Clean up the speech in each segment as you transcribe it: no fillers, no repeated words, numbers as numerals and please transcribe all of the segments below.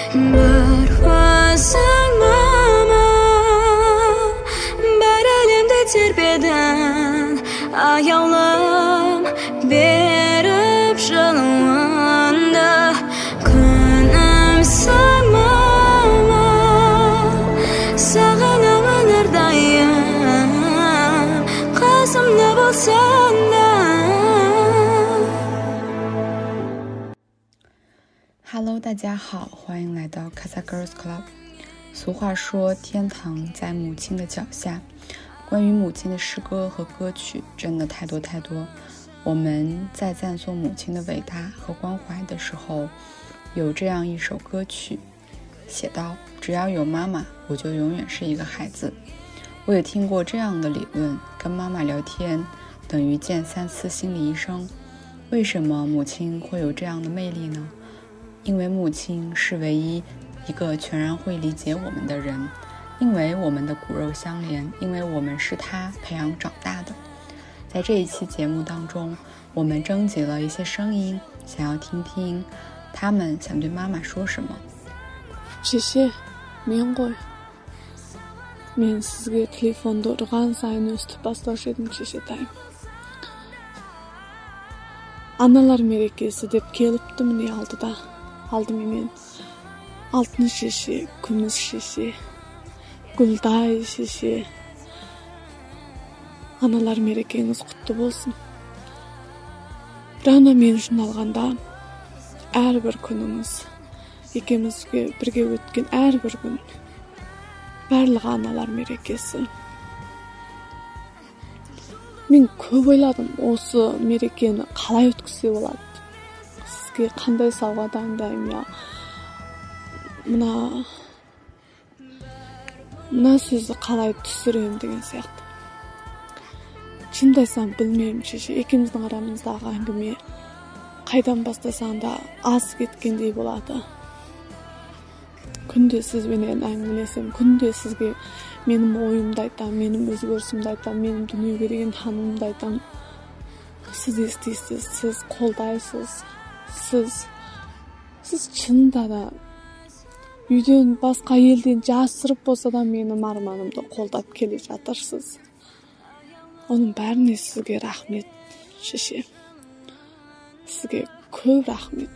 Bir özün mama bir elimde terpeden ayağım berip жылуында күнімсің мама сағынамын әрдайым қасымда болсаң да。 Hello， 大家好，欢迎来到 Casa Girls Club。俗话说，天堂在母亲的脚下。关于母亲的诗歌和歌曲真的太多太多。我们在赞颂母亲的伟大和关怀的时候，有这样一首歌曲，写道：只要有妈妈，我就永远是一个孩子。我也听过这样的理论，跟妈妈聊天等于见3次心理医生。为什么母亲会有这样的魅力呢？因为母亲是唯一一个全然会理解我们的人，因为我们的骨肉相连，因为我们是她培养长大的。在这一期节目当中，我们征集了一些声音，想要听听他们想对妈妈说什么。 Шеше, мен ғой. Мен сізге телефонды ұрған сайын өстіп бастаушы едім, шешетайым. Аналар мерекесі деп келіпті міне алдыменен. Алтын шеше, күміс шеше, гүлдай шеше. Аналар мерекеңіз құтты болсын. Бірақ мен үшін алғанда әрбір күніңіз, екеумізге бірге өткен әрбір күн, барлығы аналар мерекесі. Мен көп ойладым, осы мерекені қалай өткізе болады. Сізге қандай сауға дайындаймын, мына сөзді қалай түсірем деген сияқты. Шынымды айтсам білмеймін, шеше, екеуміздің арамыздағы әңгіме қайдан бастасаң да аз кеткендей болады. Күнде сізбенен әңгімелесем, күнде сізге менің ойымды айтам, менің өзгерісімді айтам, менің дүниеге деген танымымды айтам. Сіз естисіз, сіз қолдайсыз, сіз шынында да үйден басқа елден жасырып болса да менің арманымды қолдап келе жатырсыз. Оның бәріне сізге рахмет, шеше. Сізге көп рахмет.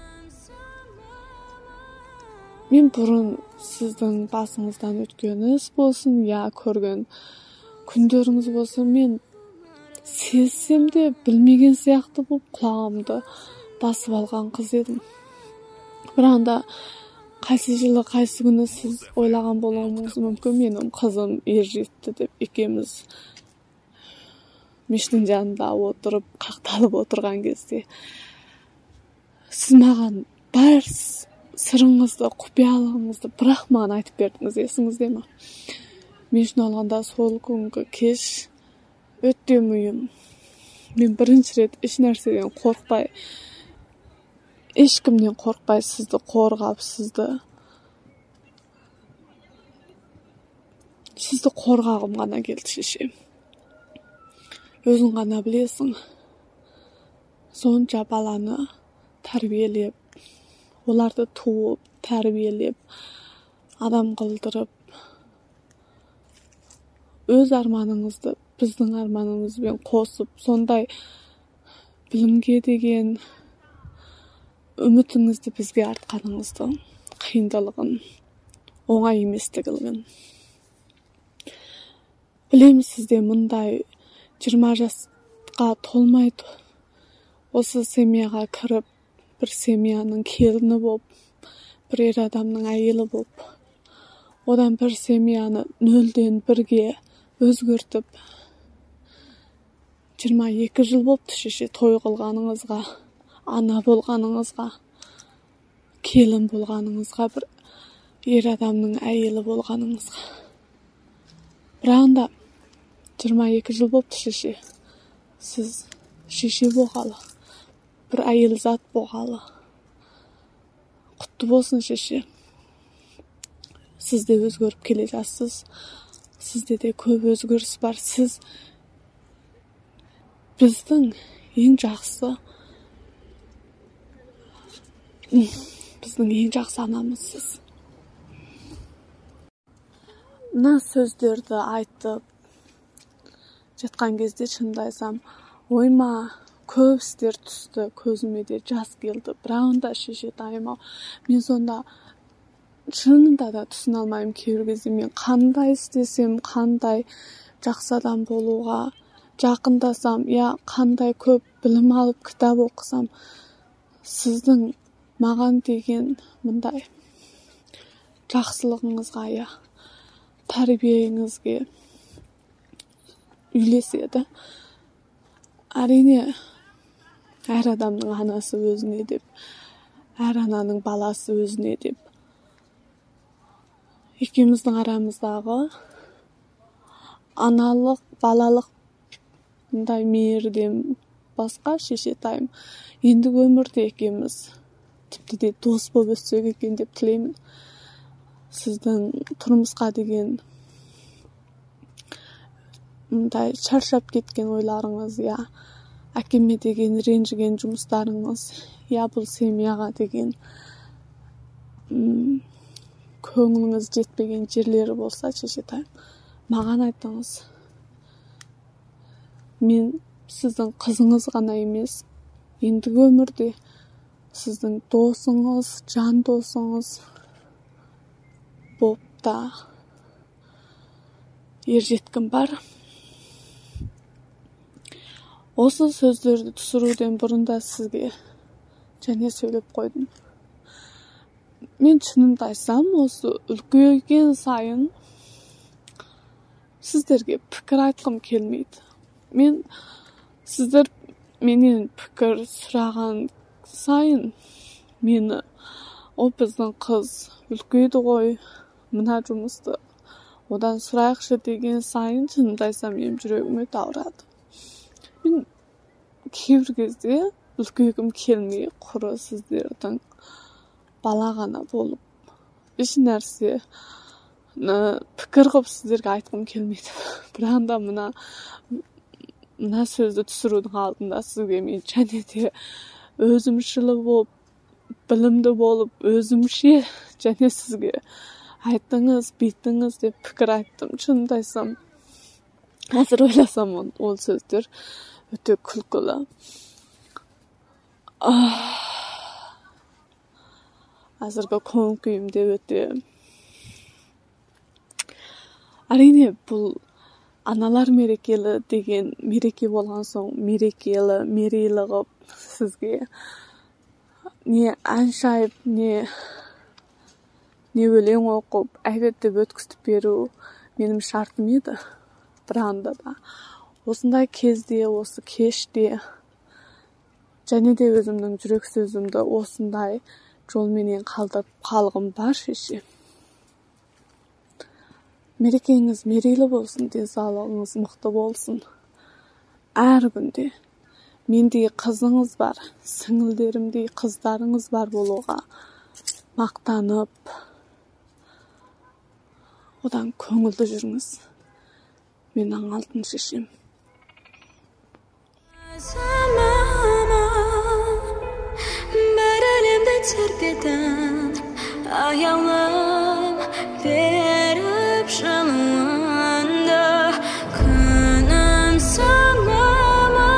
Мен бұрын сіздің басыңыздан өткен іс болсын, көрген күндеріңіз болсын, мен сезсем де білмеген сияқты болып құлағымды басып алған қыз едім. Бірақ та қайсы жылы, қайсы күні сіз ойлаған болуыңыз мүмкін, менің қызым ержетті деп екеуміз мешіттің жанында отырып, қақталып отырған кезде сіз маған бар сырыңызды, құпиялығыңызды бірақ маған айтып бердіңіз, есіңізде ме? Мен үшін алғанда сол күнгі кеш өте мұйым. Мен бірінші рет еш нәрседен қорықпай, ешкімнен қорықпай сізді қорғап, сізді қорғағым ғана келді, шеше. Өзің ғана білесің, сонша баланы тәрбиелеп, оларды туып, тәрбиелеп, адам қылдырып, өз арманыңызды біздің арманымызбен қосып, сондай білімге деген үмітіңізді бізге артқаныңызды, қиындылығын, оңай еместігін. Білемін, сізде мұндай 20 жасқа толмайды. Осы семьяға кіріп, бір семьяның келіні болып, бір ер адамның әйелі болып, одан бір семьяны нөлден бірге өзгертіп, 22 жыл болыпты, шеше, той қылғаныңызға, ана болғаныңызға, келін болғаныңызға, бір ер адамның әйелі болғаныңызға. Бірақ та 22 жыл болыпты, шеше. Сіз шеше болғалы, бір әйел зат болғалы. Құтты болсын, шеше. Сіз де өзгеріп келе жатсыз. Сізде де көп өзгеріс бар. Сіз біздің ең жақсы Біздің ең жақсы анамыз сіз. Мына сөздерді айтып жатқан кезде шынымды айтсам, ойыма көп істер түсті, көзіме де жас келді. Бірақ да шешетайым-ау, мен сонда шынында да түсіне алмаймын кейбір кезде. Мен қандай істесем, қандай жақсы адам болуға жақындасам, қандай көп білім алып кітап оқысам, сіздің маған деген мұндай жақсылығыңызға, тәрбиеңізге үйлеседі. Әрине, әр адамның анасы өзіне деп, әр ананың баласы өзіне деп. Екеуміздің арамыздағы аналық, балалық мұндай мейірден басқа шешетайым. Енді өмірде екеуміз тіпті де дос болып өссек екен деп тілеймін. Сіздің тұрмысқа деген мұндай шаршап кеткен ойларыңыз, әкеме деген ренжіген жұмыстарыңыз, бұл семьяға деген көңіліңіз жетпеген жерлері болса, шешетайым, маған айтыңыз. Мен сіздің қызыңыз ғана емес, ендігі өмірде сіздің досыңыз, жан досыңыз болып та ержеткім бар. Осы сөздерді түсіруден бұрында сізге және сөйлеп қойдым. Мен шынымды айтсам, осы үлкейген сайын сіздерге пікір айтқым келмейді. Мен сіздер менен пікір сұраған сайын мені, біздің қыз үлкейді ғой, мына жұмысты одан сұрайықшы деген сайын шынымды айтсам, менің жүрегім өте ауырады. Мен кейбір кезде үлкейгім келмей, құры сіздердің бала ғана болып, еш нәрсе пікір қып сіздерге айтқым келмейді. Бірақ да мына сөзді түсірудің алдында сізге мен және де өзімшілі болып, білімді болып, өзімше және сізге айттыңыз, бүйттіңіз деп пікір айттым. Шынымды айтсам, қазір ойласам, ол сөздер өте күлкілі. Қазіргі көңіл күйімде өте... Әрине, бұл аналар мерекелі деген мереке болған соң, мерейлі ғып сізге не ән шайып, не өлең оқып, әйбет деп өткізіп беру менің шартым еді. Бірақ да осындай кезде, осы кеште және де өзімнің жүрек сөзімді осындай жолменен қалдырып қалғым бар, шеше. Мерекеңіз мерейлі болсын, денсаулығыңыз мықты болсын. Әр күнде мендей қызыңыз бар, сіңілдерімдей қыздарыңыз бар болуға мақтанып, одан көңілді жүріңіз. Менің алтын шешем. Bir elimde terpeden ayağım verip şanında günüm sanmama.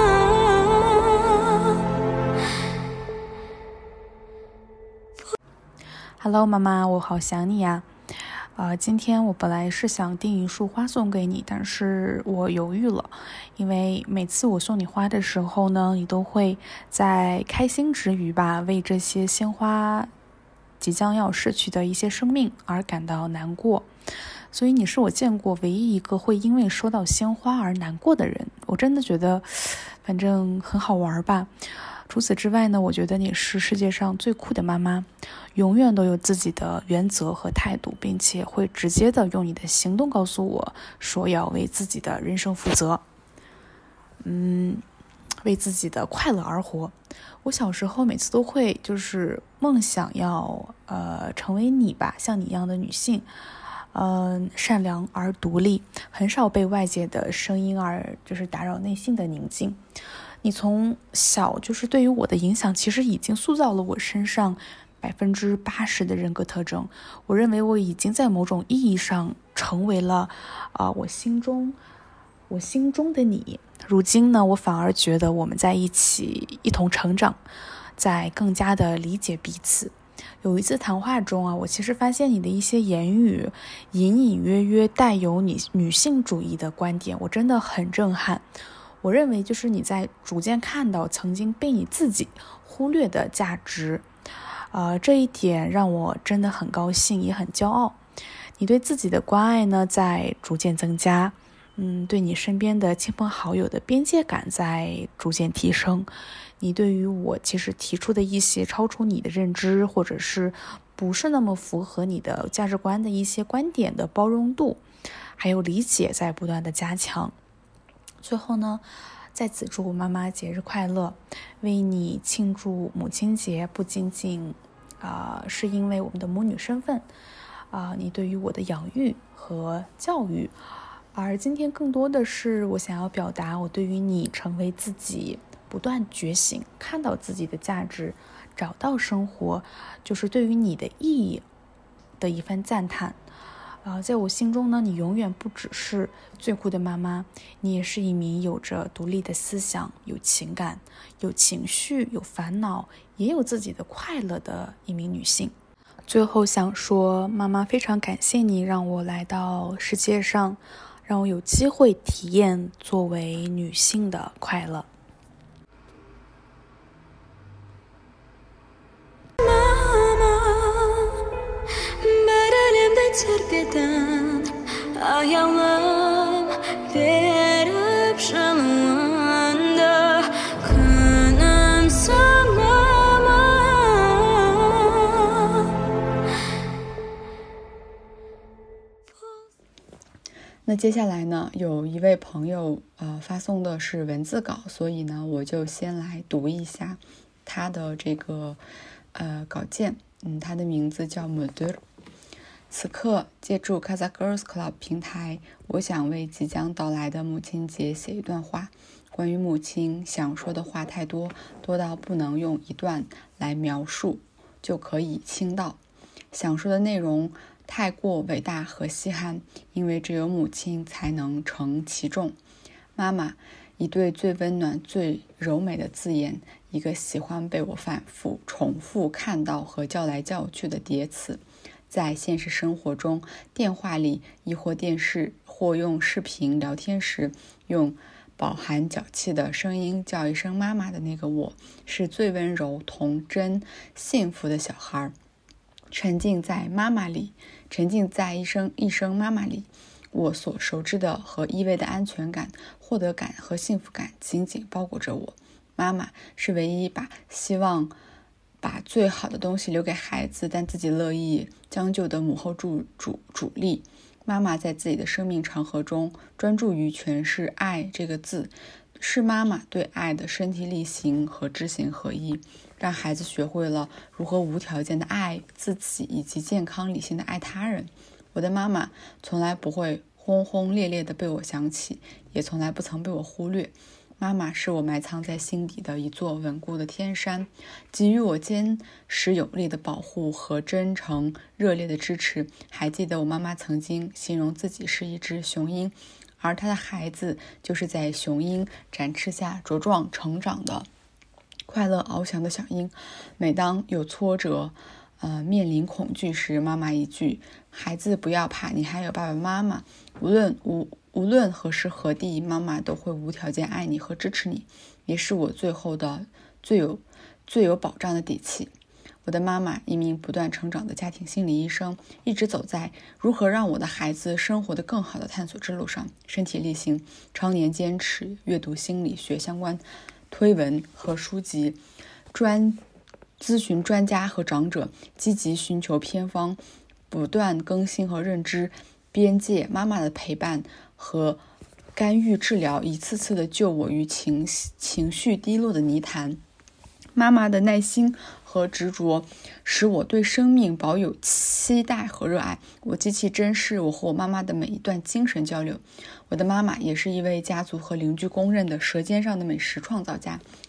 Hello， 妈妈，我好想你呀。今天我本来是想订一束花送给你，但是我犹豫了，因为每次我送你花的时候呢，你都会在开心之余吧，为这些鲜花即将要逝去的一些生命而感到难过。所以你是我见过唯一一个会因为收到鲜花而难过的人，我真的觉得反正很好玩吧。除此之外呢，我觉得你是世界上最酷的妈妈，永远都有自己的原则和态度，并且会直接的用你的行动告诉我说要为自己的人生负责，为自己的快乐而活。我小时候每次都会就是梦想要成为你吧，像你一样的女性，善良而独立，很少被外界的声音而就是打扰内心的宁静。你从小就是对于我的影响，其实已经塑造了我身上 80%的人格特征。我认为我已经在某种意义上成为了我心中的你。如今呢，我反而觉得我们在一起一同成长，在更加的理解彼此。有一次谈话中我其实发现你的一些言语隐隐约约带有你女性主义的观点，我真的很震撼。我认为就是你在逐渐看到曾经被你自己忽略的价值，这一点让我真的很高兴，也很骄傲。你对自己的关爱呢，在逐渐增加，对你身边的亲朋好友的边界感在逐渐提升。你对于我其实提出的一些超出你的认知，或者是不是那么符合你的价值观的一些观点的包容度，还有理解在不断的加强。最后呢，在此祝妈妈节日快乐，为你庆祝母亲节，不仅仅是因为我们的母女身份，你对于我的养育和教育，而今天更多的是我想要表达我对于你成为自己，不断觉醒，看到自己的价值，找到生活，就是对于你的意义的一番赞叹。在我心中呢，你永远不只是最酷的妈妈，你也是一名有着独立的思想、有情感、有情绪、有烦恼，也有自己的快乐的一名女性。最后想说，妈妈非常感谢你让我来到世界上，让我有机会体验作为女性的快乐。 Terketen ayağım verip şanında kınım samama。 那接下来呢，有一位朋友发送的是文字稿，所以呢，我就先来读一下他的这个稿件。他的名字叫 Mudur。此刻借助 Casa Girls Club 平台，我想为即将到来的母亲节写一段话。关于母亲，想说的话太多，多到不能用一段来描述就可以倾倒。想说的内容太过伟大和稀罕，因为只有母亲才能承其重。妈妈，一对最温暖、最柔美的字眼，一个喜欢被我反复重复看到和叫来叫去的叠词。在现实生活中，电话里亦或电视或用视频聊天时，用饱含脚气的声音叫一声妈妈的那个我，是最温柔、童真、幸福的小孩，沉浸在妈妈里，沉浸在一声妈妈里。我所熟知的和依偎的安全感、获得感和幸福感紧紧包裹着我。妈妈是唯一希望把最好的东西留给孩子，但自己乐意将就的母后主力。妈妈在自己的生命长河中专注于诠释爱这个字，是妈妈对爱的身体力行和知行合一，让孩子学会了如何无条件的爱自己，以及健康理性的爱他人。我的妈妈从来不会轰轰烈烈的被我想起，也从来不曾被我忽略。妈妈是我埋藏在心底的一座稳固的天山，给予我坚实有力的保护和真诚热烈的支持。还记得我妈妈曾经形容自己是一只雄鹰，而她的孩子就是在雄鹰展翅下茁壮成长的快乐翱翔的小鹰。每当有挫折面临恐惧时，妈妈一句，孩子不要怕，你还有爸爸妈妈，无论何时何地，妈妈都会无条件爱你和支持你，也是我最后的最有保障的底气。我的妈妈，一名不断成长的家庭心理医生，一直走在如何让我的孩子生活得更好的探索之路上，身体力行，常年坚持阅读心理学相关推文和书籍，咨询专家和长者，积极寻求偏方，不断更新和认知边界。妈妈的陪伴和干预治疗一次次的救我于情绪低落的泥潭。妈妈的耐心和执着使我对生命保有期待和热爱。我极其珍视我和我妈妈的每一段精神交流。我的妈妈也是一位家族和邻居公认的舌尖上的美食创造家。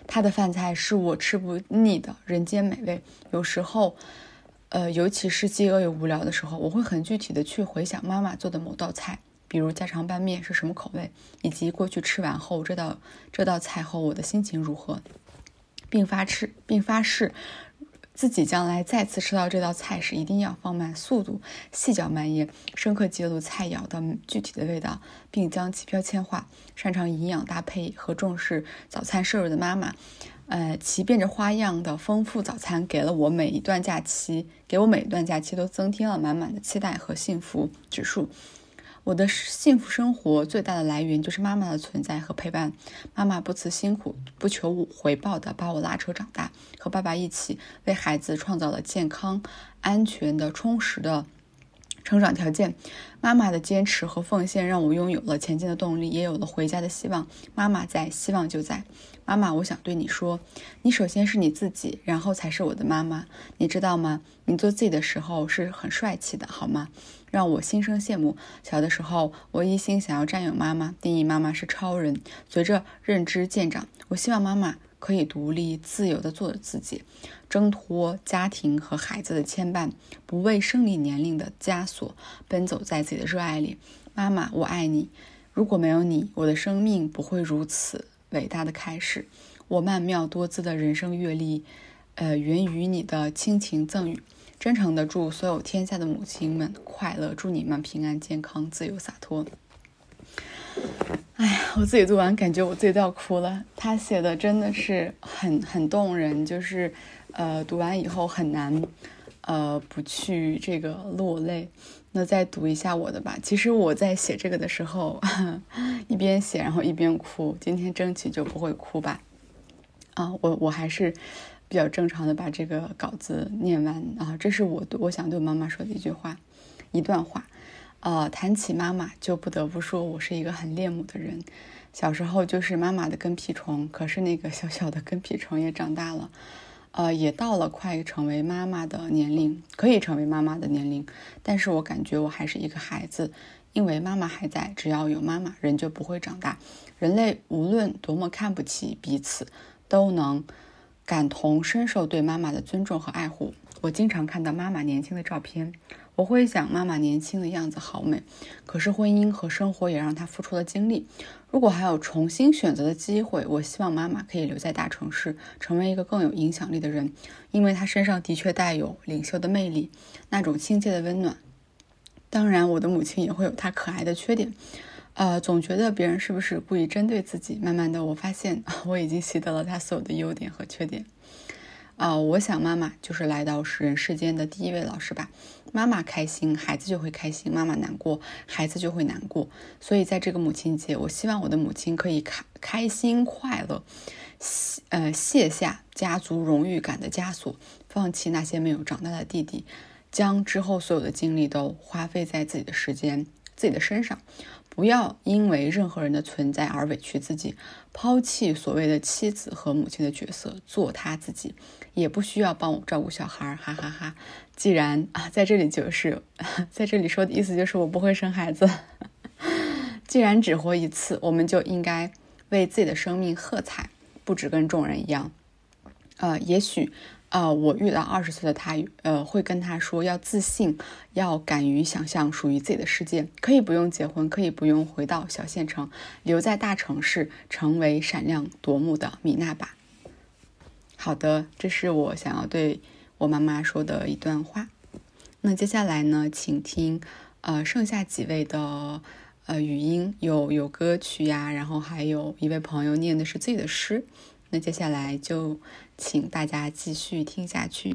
他的饭菜是我吃不腻的人间美味。有时候尤其是饥饿又无聊的时候，我会很具体的去回想妈妈做的某道菜，比如家常拌面是什么口味，以及过去吃完后这道菜后我的心情如何，并发誓自己将来再次吃到这道菜时，一定要放慢速度，细嚼慢咽，深刻记录菜肴的具体的味道，并将其标签化。擅长营养搭配和重视早餐摄入的妈妈，其变着花样的丰富早餐给我每一段假期都增添了满满的期待和幸福指数。我的幸福生活最大的来源就是妈妈的存在和陪伴。妈妈不辞辛苦不求回报的把我拉扯长大，和爸爸一起为孩子创造了健康安全的充实的成长条件。妈妈的坚持和奉献让我拥有了前进的动力，也有了回家的希望。妈妈在，希望就在。妈妈，我想对你说，你首先是你自己，然后才是我的妈妈，你知道吗？你做自己的时候是很帅气的，好吗？让我心生羡慕。小的时候，我一心想要占有妈妈，定义妈妈是超人。随着认知渐长，我希望妈妈可以独立自由地做自己，挣脱家庭和孩子的牵绊，不为生理年龄的枷锁，奔走在自己的热爱里。妈妈，我爱你。如果没有你，我的生命不会如此伟大的开始。我曼妙多姿的人生阅历，源于你的亲情赠予。真诚的祝所有天下的母亲们快乐，祝你们平安健康自由洒脱。哎呀，我自己读完感觉我自己都要哭了。他写的真的是很动人，就是读完以后很难不去这个落泪。那再读一下我的吧。其实我在写这个的时候一边写然后一边哭，今天争取就不会哭吧。我还是比较正常的把这个稿子念完啊。这是我想对妈妈说的一段话。谈起妈妈，就不得不说我是一个很恋母的人。小时候就是妈妈的跟屁虫，可是那个小小的跟屁虫也长大了，也到了快成为妈妈的年龄，可以成为妈妈的年龄。但是我感觉我还是一个孩子，因为妈妈还在，只要有妈妈，人就不会长大。人类无论多么看不起彼此，都能感同身受对妈妈的尊重和爱护。我经常看到妈妈年轻的照片，我会想妈妈年轻的样子好美，可是婚姻和生活也让她付出了精力。如果还有重新选择的机会，我希望妈妈可以留在大城市，成为一个更有影响力的人，因为她身上的确带有领袖的魅力，那种亲切的温暖。当然我的母亲也会有她可爱的缺点，总觉得别人是不是故意针对自己。慢慢的我发现我已经习得了她所有的优点和缺点。我想妈妈就是来到人世间的第一位老师吧。妈妈开心，孩子就会开心；妈妈难过，孩子就会难过。所以在这个母亲节，我希望我的母亲可以开心快乐，卸下家族荣誉感的枷锁，放弃那些没有长大的弟弟，将之后所有的精力都花费在自己的身上。不要因为任何人的存在而委屈自己，抛弃所谓的妻子和母亲的角色，做他自己。也不需要帮我照顾小孩，哈哈哈。既然在这里说的意思就是我不会生孩子。既然只活一次，我们就应该为自己的生命喝彩，不只跟众人一样。也许我遇到20岁的他，会跟他说要自信，要敢于想象属于自己的世界，可以不用结婚，可以不用回到小县城，留在大城市，成为闪亮夺目的米娜吧。好的，这是我想要对我妈妈说的一段话。那接下来呢，请听剩下几位的语音，有歌曲呀，然后还有一位朋友念的是自己的诗。那接下来就请大家继续听下去。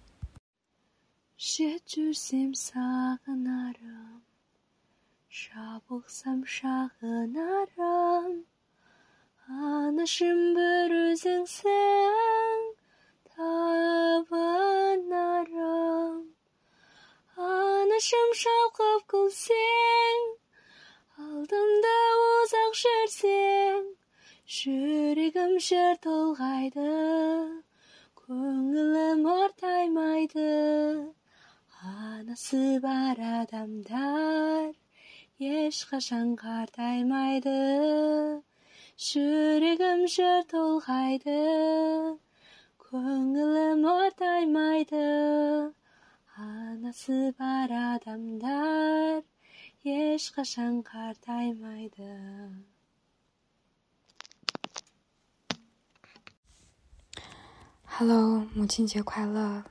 Anashim beruzing seng tavan naram Anashim shalqab kul seng Aldımda uzak şerseng Жүрегім жер толғайды Көңілім ортаймайды Анасы бар адамдар ешқашан қартаймайды жүрегім жыр толғайды, көңілім ортаймайды. Анасы бар адамдар ешқашан қартаймайды. Hello， 母亲节快乐！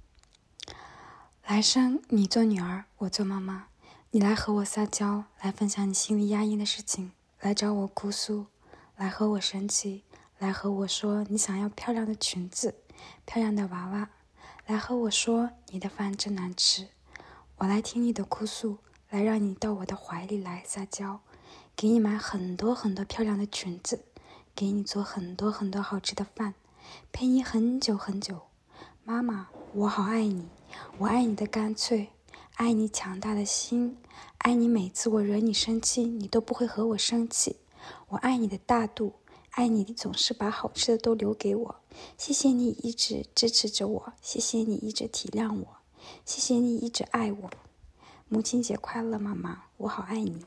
来生你做女儿，我做妈妈，你来和我撒娇，来分享你心里压抑的事情，来找我哭诉，来和我生气，来和我说你想要漂亮的裙子，漂亮的娃娃，来和我说你的饭真难吃。我来听你的哭诉，来让你到我的怀里来撒娇，给你买很多很多漂亮的裙子，给你做很多很多好吃的饭，陪你很久很久。妈妈，我好爱你，我爱你的干脆，爱你强大的心，爱你每次我惹你生气你都不会和我生气，我爱你的大度，爱你总是把好吃的都留给我。谢谢你一直支持着我，谢谢你一直体谅我，谢谢你一直爱我。母亲节快乐，妈妈，我好爱你。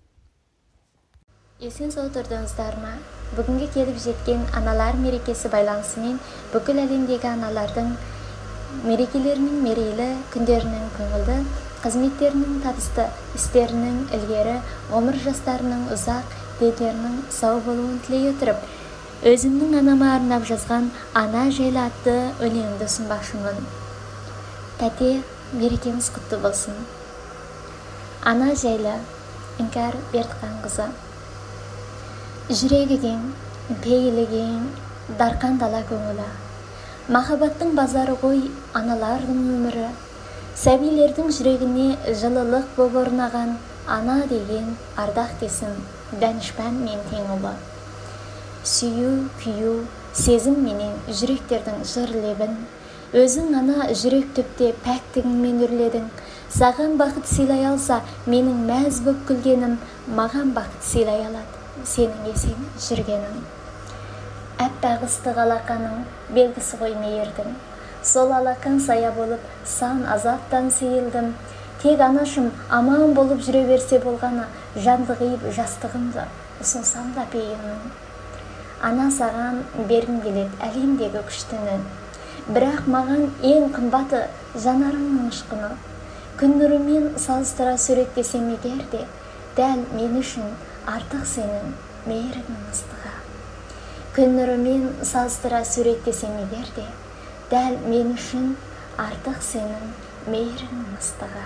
Есен сау тұрдыңыздар ма? Бүгінгі келіп жеткен аналар мерекесі байланысымен бүкіл әлемдегі аналардың мерекелерінің мерейлі, күндерінің көңілді, қызметтерінің табысты, істерінің ілгері, ғұмыр жастарының ұзақ, денлерінің сау болуын тілей отырып, өзімнің анама арнап жазған Ана жайлы атты өлеңімді ұсынбақшымын. Тәте, мерекеңіз құтты болсын. Ана жайлы, Іңкәр Бердіқанқызы. Жүрегі кең, пейілі кең, дарқан дала көңілі. Махаббаттың базары ғой аналардың өмірі. Сәбилердің жүрегіне жылылық боп орнаған ана деген ардақ десім, дәнішпән мен тең ұлы. Сүйу, күйу, сезім менен жүректердің жыр лебін. Өзің ана жүрек түпте пәктігіңмен үрледің. Саған бақыт сыйлай алса, менің мәз боп күлгенім, маған бақыт сыйлай алады. Сенің есен жүргенің. Әппақ ыстық алақаның белгісі ғой мейірдің. Сол алақан сая болып сан азаптан сейілдім. Тек анашым аман болып жүре берсе болғаны, жанды қиып жастығымды ұсынсам да пейілмін. Ана саған бергім келеді әлемдегі күштіні. Бірақ маған ең қымбаты жанарыңның ұшқыны. Күн нұрымен салыстыра суреттесем егер де, дәл мен үшін артық сенің мейіріңнің ыстығы. Күн нұрымен салыстыра суреттесем егер де, дәл мен үшін артық сенің мейіріңнің ыстығы.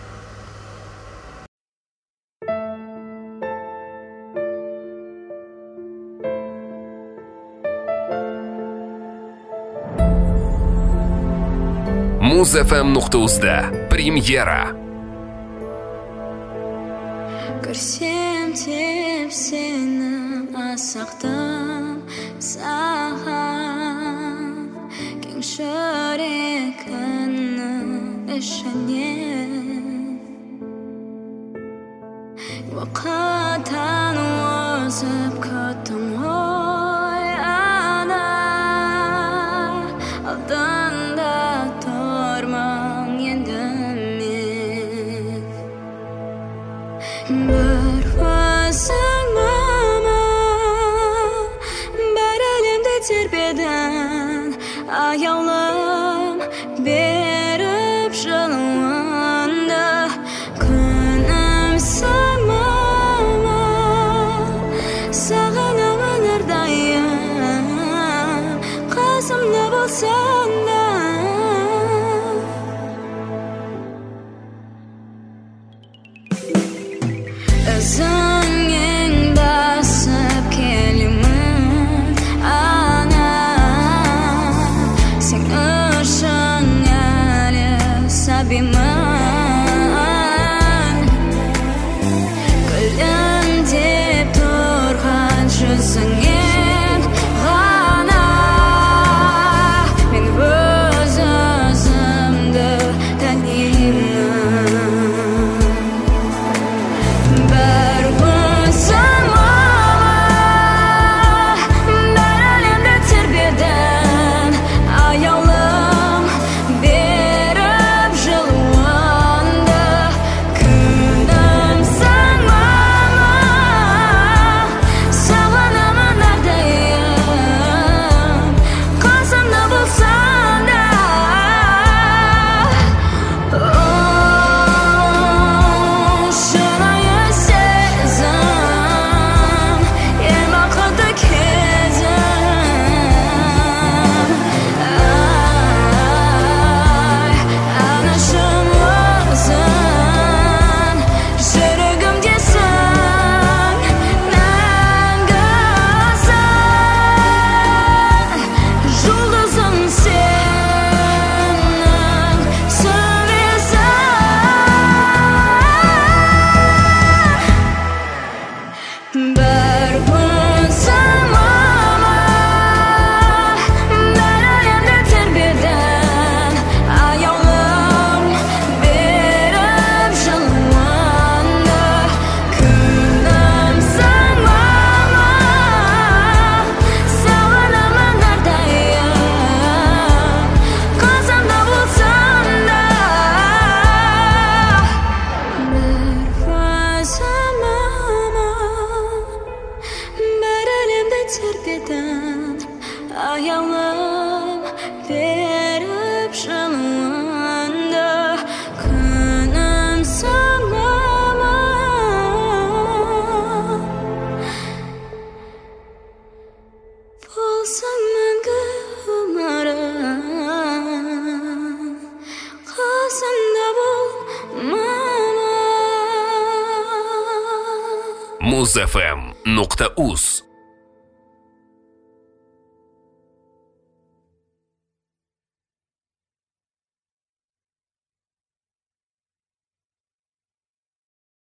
Muz.fm.uz'da Premyera. Көрсем теп сені асақтым саған, кең жүрегімнің ішінен. Уақыттан озып күттім ғой ана, алдында тұрмын енді мен. Бір өзің мама, бір әлемді тербедің, аяулым беріп жылуыңды. Күнімсің мама, сағынамын әрдайым, қасымда болсаң да. Өзіңнен басып келемін ана, сен үшін әлі сәбимін. Күлімдеп тұрған жүзіңнен ғана мен өз өзімді танимын. Аяулым беріп жылуыңды. жылуында күнім сыңлама болсаң мәңгі өмірім қасымда бол мама Muzfm.uz